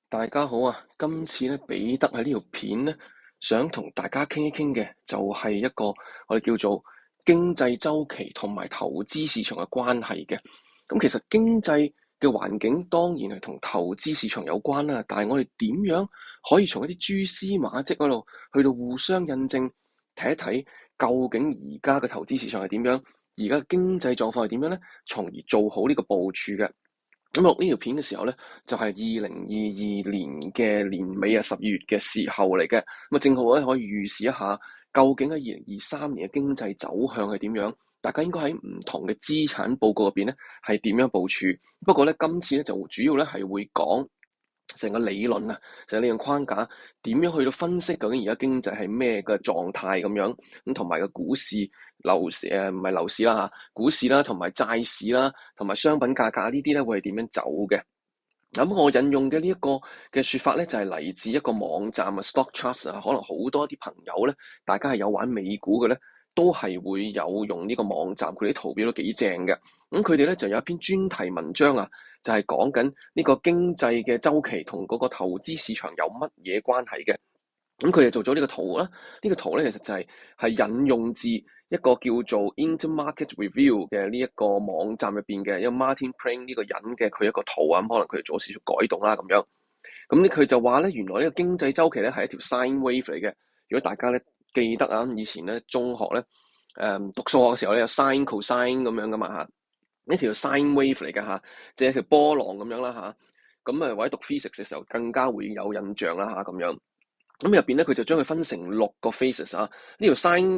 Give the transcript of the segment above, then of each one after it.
大家好啊！今次咧，彼得喺呢條片咧，想同大家傾一傾嘅就係一個我哋叫做經濟周期同埋投資市場嘅關係嘅。咁其實經濟嘅環境當然係同投資市場有關啦，但係我哋點樣可以從一啲蛛絲馬跡嗰度去到互相印證，睇一睇究竟而家嘅投資市場係點樣，而家嘅經濟狀況係點樣咧，從而做好呢個部署嘅。咁錄呢條片嘅時候咧，就係2022年嘅年尾啊12月嘅時候嚟嘅。咁啊，正好咧可以預示一下，究竟喺2023年嘅經濟走向係點樣？大家應該喺唔同嘅資產報告入邊咧係點樣部署？不過咧，今次咧就主要咧係會講成個理論啊，成個理論框架點樣去到分析究竟而家經濟係咩嘅狀態咁樣，咁同埋個股市、樓市唔係樓市啦嚇，股市啦同埋債市啦，同埋商品價格呢啲咧會係點樣走嘅？咁我引用嘅呢一個嘅説法咧，就係嚟自一個網站啊，StockCharts啊，可能好多啲朋友咧，大家係有玩美股嘅咧，都係會有用呢個網站，佢啲圖表都幾正嘅。咁佢哋咧就有一篇專題文章啊，就係講緊呢個經濟嘅周期同嗰個投資市場有乜嘢關係嘅。咁佢哋做咗呢個圖啦，呢個圖咧其實就係引用自一個叫做 Intermarket Review 嘅呢一個網站入邊嘅一個 Martin Preng 呢個人嘅佢一個圖啊，咁可能佢哋做少少改動啦咁樣。咁咧佢就話咧，原來呢個經濟周期咧係一條 sine wave 嚟嘅。如果大家咧記得啊，以前咧中學咧讀數學嘅時候咧有 sine cosine 咁樣噶嘛嚇，呢條 sine wave 嚟嘅嚇，即係一條波浪咁樣啦嚇。咁啊或者讀 physics 嘅時候更加會有印象啦嚇咁樣。咁入邊咧，佢就將佢分成6個 phases 啊。呢條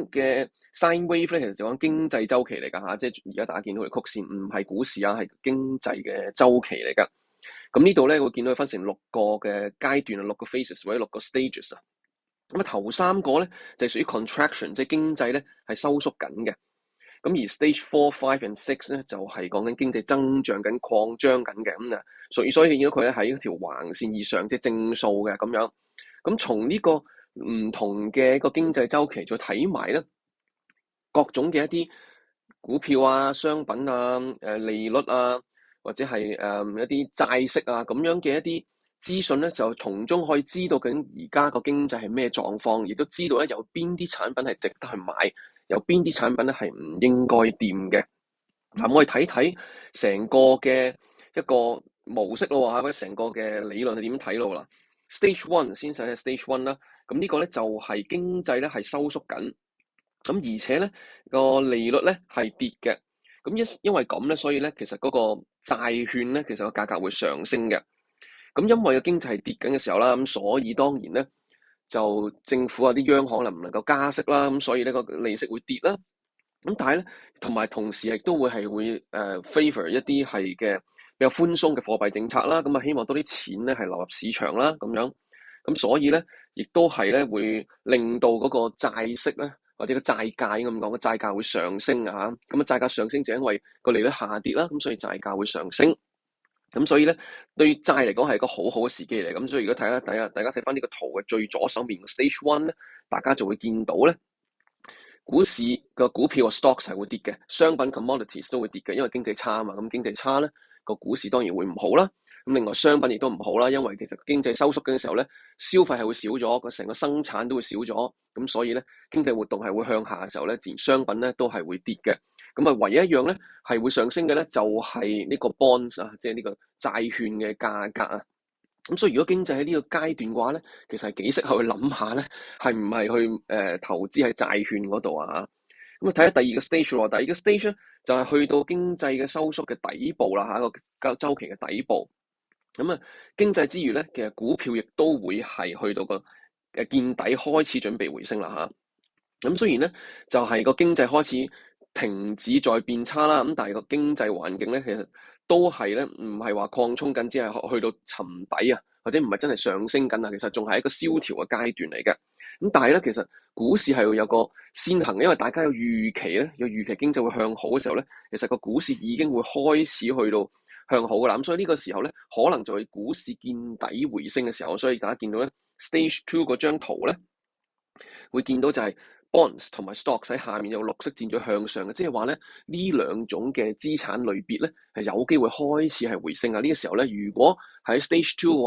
sine wave 咧，其實就講經濟周期嚟㗎嚇，即係而家大家見到嘅曲線，唔係股市啊，係經濟嘅周期嚟㗎。咁呢度咧，會見到佢分成6個嘅階段啊，6個 phases 或者6個 stages 啊。咁啊，頭3個咧就係屬於 contraction，即係經濟咧係收縮緊嘅。咁而 stage 4、5 and 6咧就係講緊經濟增長緊、擴張緊嘅。咁啊，所以見到佢咧喺一條橫線以上，即係正數嘅咁樣。咁從呢個唔同嘅一個經濟周期，再睇埋咧各種嘅一啲股票啊、商品啊、利率啊，或者係一啲債息啊咁樣嘅一啲資訊咧，就從中可以知道究竟而家個經濟係咩狀況，亦都知道咧有邊啲產品係值得去買，有邊啲產品咧係唔應該掂嘅。嗱，我哋睇睇成個嘅一個模式咯嚇，或者成個嘅理論係點睇咯啦。Stage one 先睇下 Stage one 啦，咁呢個咧就係經濟咧係收縮緊，咁而且咧個利率咧係跌嘅，咁因為咁咧，所以咧其實嗰個債券咧其實個價格會上升嘅，咁因為個經濟係跌緊嘅時候啦，咁所以當然咧就政府啊啲央行能唔能夠加息啦，咁所以呢個利息會跌啦。咁但係咧，同時亦都會favor 一啲係嘅比較寬鬆嘅貨幣政策啦，咁啊希望多啲錢咧係流入市場啦，咁樣，咁所以咧，亦都係咧會令到嗰個債息咧或者個債價咁講，個債價會上升啊嚇，咁啊債價上升就因為個利率下跌啦，咁所以債價會上升，咁所以咧對債嚟講係一個好好嘅時機嚟，咁所以如果大家睇翻呢個圖嘅最左手面嘅 Stage One 咧，大家就會見到咧。股市個股票個 stocks 係會跌嘅，商品 commodities 都會跌嘅，因為經濟差啊嘛。咁經濟差咧，個股市當然會唔好啦。咁另外商品亦都唔好啦，因為其實經濟收縮嘅時候咧，消費係會少咗，個成個生產都會少咗。咁所以咧，經濟活動係會向下嘅時候咧，自然商品咧都係會跌嘅。咁啊，唯一一樣咧係會上升嘅咧，就係呢個 bonds 啊，即係呢個債券嘅價格啊。咁所以如果經濟喺呢個階段嘅話咧，其實係幾適合去諗下咧，係唔係去投資喺債券嗰度啊？咁啊睇下第二個 stage 咯，第二個 stage 咧就係去到經濟嘅收縮嘅底部啦嚇，個周期嘅底部。咁啊經濟之餘咧，其實股票亦都會係去到個見底開始準備回升啦嚇。咁雖然咧就係個經濟開始停止再變差啦，咁但係個經濟環境咧其實都係咧唔係話擴充緊，只係去到沉底啊，或者唔係真係上升緊啊，其實仲係一個蕭條嘅階段嚟嘅。咁但係咧，其實股市係會有個先行嘅，因為大家有預期咧，有預期經濟會向好嘅時候咧，其實個股市已經會開始去到向好噶啦。咁所以呢個時候咧，可能就係股市見底回升嘅時候。所以大家見到咧 Stage Two 嗰張圖咧，會見到就係 bonds 同埋 stocks 喺下面有綠色箭咗向上嘅，即係話咧呢兩種嘅資產類別咧係有機會開始係回升啊！呢個時候咧，如果喺 Stage Two 嘅話咧，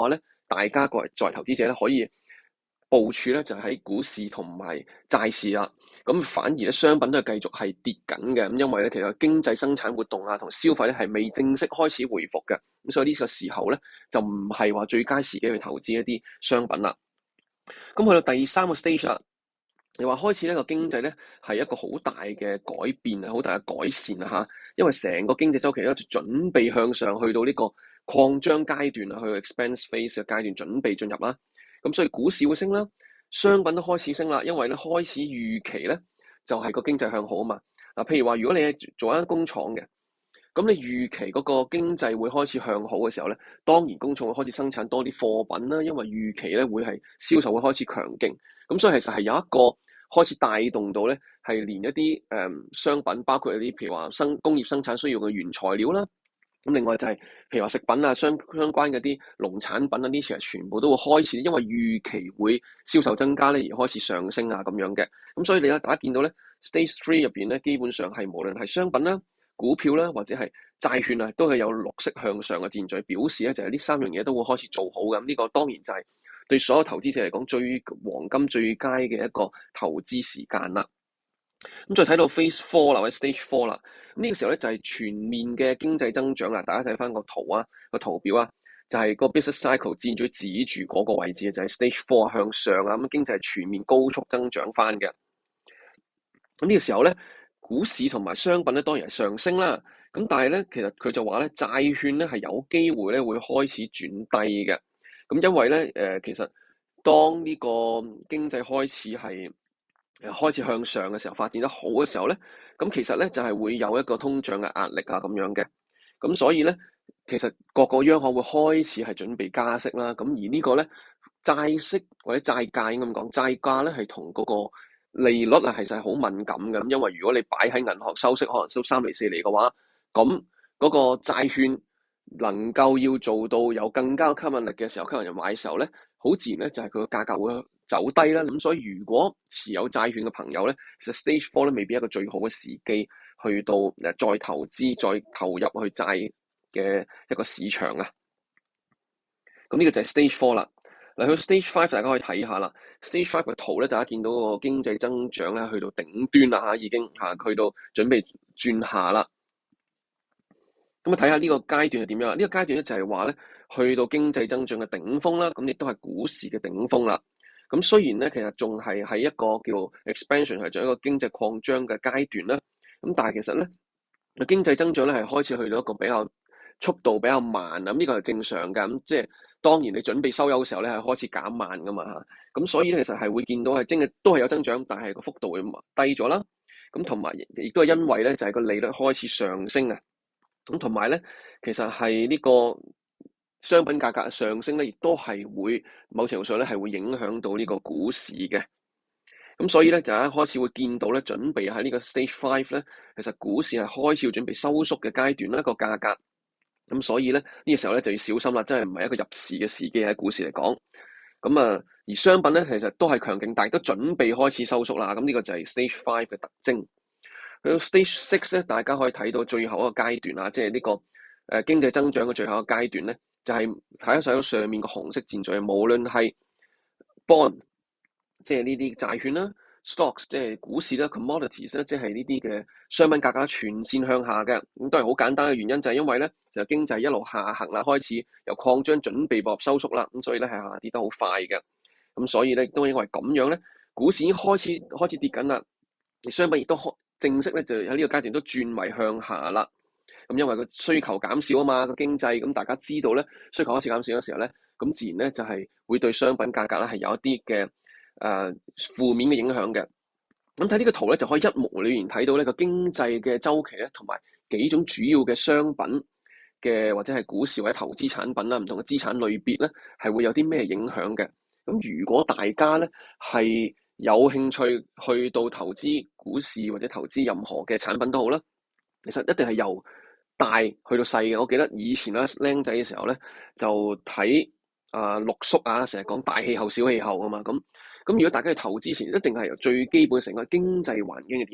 大家作為投資者咧，可以部署咧就喺股市同埋債市啦。咁反而咧商品都係繼續係跌緊嘅，咁因為咧其實經濟生產活動啊同消費咧係未正式開始回復嘅，咁所以呢個時候咧就唔係話最佳時機去投資一啲商品啦。咁去到第三個 stage 啦，你話開始呢個經濟咧係一個好大嘅改變啊，好大嘅改善啊嚇，因為成個經濟周期咧就準備向上去到呢個擴張階段啊，去 expanse phase 嘅階段準備進入啦。咁所以股市會升啦，商品都開始升啦，因為咧開始預期咧就係個經濟向好啊嘛。嗱，譬如話如果你係做一間工廠嘅，咁你預期嗰個經濟會開始向好嘅時候咧，當然工廠會開始生產多啲貨品啦，因為預期咧會係銷售會開始強勁。咁所以其實係有一個開始帶動到咧，係連一啲商品，包括一啲譬如話工業生產需要嘅原材料啦。咁另外就係譬如話食品啊，相關嘅啲農產品啊，呢啲其實全部都會開始，因為預期會銷售增加咧而開始上升啊咁樣嘅。咁所以你大家見到咧，Stage 3入邊咧，基本上係無論係商品啦、股票啦，或者係債券啊，都係有綠色向上嘅戰序，表示咧就係呢三樣嘢都會開始做好嘅。呢個當然就係對所有投資者嚟講最黃金、最佳嘅一個投資時間啦。咁再睇到 Phase 4啦，或者 Stage 4啦，咁呢個時候咧就係全面嘅經濟增長啦。大家睇翻個圖啊，個圖表啊，就係個 business cycle 箭嘴指住嗰個位置就係 Stage 4向上啊，咁經濟係全面高速增長翻嘅。咁呢個時候咧，股市同埋商品咧當然係上升啦。咁但係咧，其實佢就話咧，債券咧係有機會咧會開始轉低嘅。咁因為咧，其實當呢個經濟開始向上嘅時候，發展得好嘅時候咧，咁其實咧就係會有一個通脹嘅壓力啊咁樣嘅。咁所以咧，其實各個央行會開始係準備加息啦。咁而呢個咧債息或者債價應該咁講，債價咧係同嗰個利率啊，其實係好敏感嘅。咁因為如果你擺喺銀行收息，可能收3厘4厘嘅話，咁嗰個債券能夠要做到有更加吸引力嘅時候，吸引人買嘅時候咧，好自然咧就係佢個價格會走低啦。咁所以如果持有債券嘅朋友咧，其實 Stage 4咧未必係一個最好嘅時機去到再投資、再投入去債嘅一個市場啊。咁呢個就係 Stage 4啦。嚟去 Stage 5，大家可以睇下啦。Stage 5嘅圖咧，大家見到個經濟增長咧去到頂端啦嚇，已經去到準備轉下啦。咁睇下呢個階段係點樣啦？呢個階段咧就係話咧，去到經濟增長嘅頂峰啦，咁亦都係股市嘅頂峰啦。咁雖然咧，其實仲係喺一個叫 expansion 係做一個經濟擴張嘅階段啦。咁但係其實咧，經濟增長咧係開始去到一個比較速度比較慢啊。咁呢個係正常㗎。咁即係當然你準備收油嘅時候咧係開始減慢㗎嘛嚇。咁所以咧其實係會見到係都係有增長，但係個幅度會低咗啦。咁同埋亦都係因為咧就係個利率開始上升啊。咁同埋咧，其實係呢個商品價格上升咧，亦都係會某程度上咧係會影響到呢個股市嘅。咁所以咧，大家開始會見到咧，準備喺呢個 Stage 5咧，其實股市係開始要準備收縮嘅階段啦，個價格。咁所以咧，呢個時候咧就要小心啦，真係唔係一個入市嘅時機喺股市嚟講。咁啊，而商品咧其實都係強勁，但係都準備開始收縮啦。咁呢個就係 Stage 5嘅特徵。去到 Stage 6咧，大家可以睇到最後一個階段啊，即係呢個經濟增長嘅最後一個階段咧，就係睇得上面個紅色箭嘴，無論係 bond，即係呢啲債券啦 ，stocks 即係股市啦 ，commodities 咧即係呢啲嘅商品價格全線向下嘅。咁都係好簡單嘅原因，就係因為咧就經濟一路下行啦，開始由擴張準備步入收縮啦，咁所以咧係下跌得好快嘅。咁所以咧都因為咁樣咧，股市已經開始跌緊啦，而商品亦都正式咧就喺呢個階段都轉為向下啦。咁因為個需求減少啊嘛，個經濟咁大家知道咧，需求開始減少嘅時候咧，咁自然咧就係會對商品價格咧係有一啲嘅負面嘅影響嘅。咁睇呢個圖咧就可以一目了然睇到呢個經濟嘅週期咧，同埋幾種主要嘅商品嘅或者係股市或者投資產品啦，唔同嘅資產類別咧係會有啲咩影響嘅。咁如果大家咧係有興趣去到投資股市或者投資任何嘅產品都好啦，其實一定係由大去到細嘅。我記得以前咧僆仔嘅時候咧，就睇陸叔啊，成日講大氣候、小氣候啊嘛。咁如果大家去投資前，一定係由最基本成個經濟環境係點樣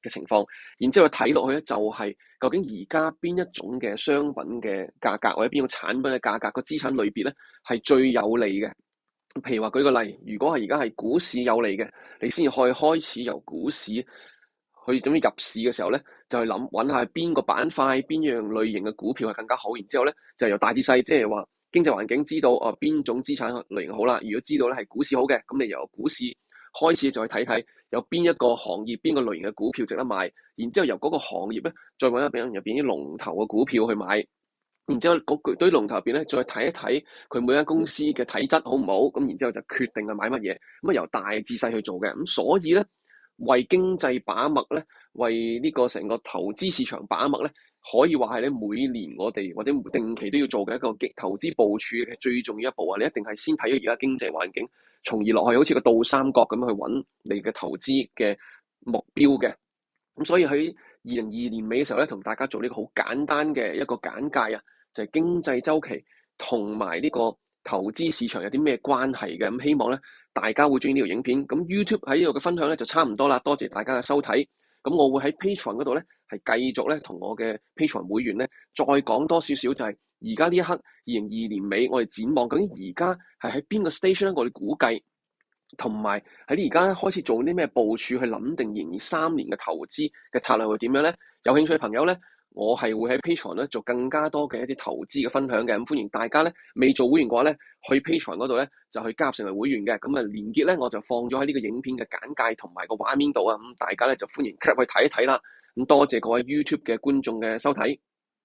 嘅情況，然之後睇落去咧就係究竟而家邊一種嘅商品嘅價格或者邊個產品嘅價格個資產類別咧係最有利嘅。譬如話舉個例，如果係而家係股市有利嘅，你先至可以開始由股市去準備入市嘅時候咧，就去揾下邊個板塊、邊樣類型嘅股票係更加好。然之後咧就由大至細，即係話經濟環境知道邊種資產類型好啦。如果知道咧係股市好嘅，咁你由股市開始再睇睇有邊一個行業、邊個類型嘅股票值得買。然之後由嗰個行業咧再揾入邊啲龍頭嘅股票去買。然之後嗰堆龍頭入邊咧，再睇一睇佢每間公司嘅體質好唔好，咁然之後就決定係買乜嘢。咁由大至細去做嘅。咁所以咧，為經濟把脈咧，為呢個成個投資市場把脈咧，可以話係咧每年我哋或者定期都要做嘅一個投資部署嘅最重要一步啊！你一定係先睇咗而家經濟環境，從而落去好似個倒三角咁去揾你嘅投資嘅目標嘅。咁所以喺2022年尾嘅時候咧，同大家做呢個好簡單嘅一個簡介啊，就係經濟周期同埋呢個投資市場有啲咩關係嘅。咁希望咧大家會中意呢條影片。咁 YouTube 喺呢度嘅分享咧就差唔多啦，多謝大家嘅收睇。咁我會喺 Patreon 嗰度咧係繼續咧同我嘅 Patreon 會員咧再講多少少，就係而家呢一刻2022年尾我哋展望究竟而家係喺邊個 station 咧，我哋估計。同埋喺你而家開始做啲咩部署去諗定2023年嘅投資嘅策略會點樣咧？有興趣嘅朋友咧，我係會喺 Patreon 咧做更加多嘅一啲投資嘅分享嘅。咁歡迎大家咧未做會員嘅話咧，去 Patreon 嗰度咧就去加入成為會員嘅。咁啊連結咧我就放咗喺呢個影片嘅簡介同埋個畫面度啊。咁大家咧就歡迎 click 去睇一睇啦。咁多謝各位 YouTube 嘅觀眾嘅收睇。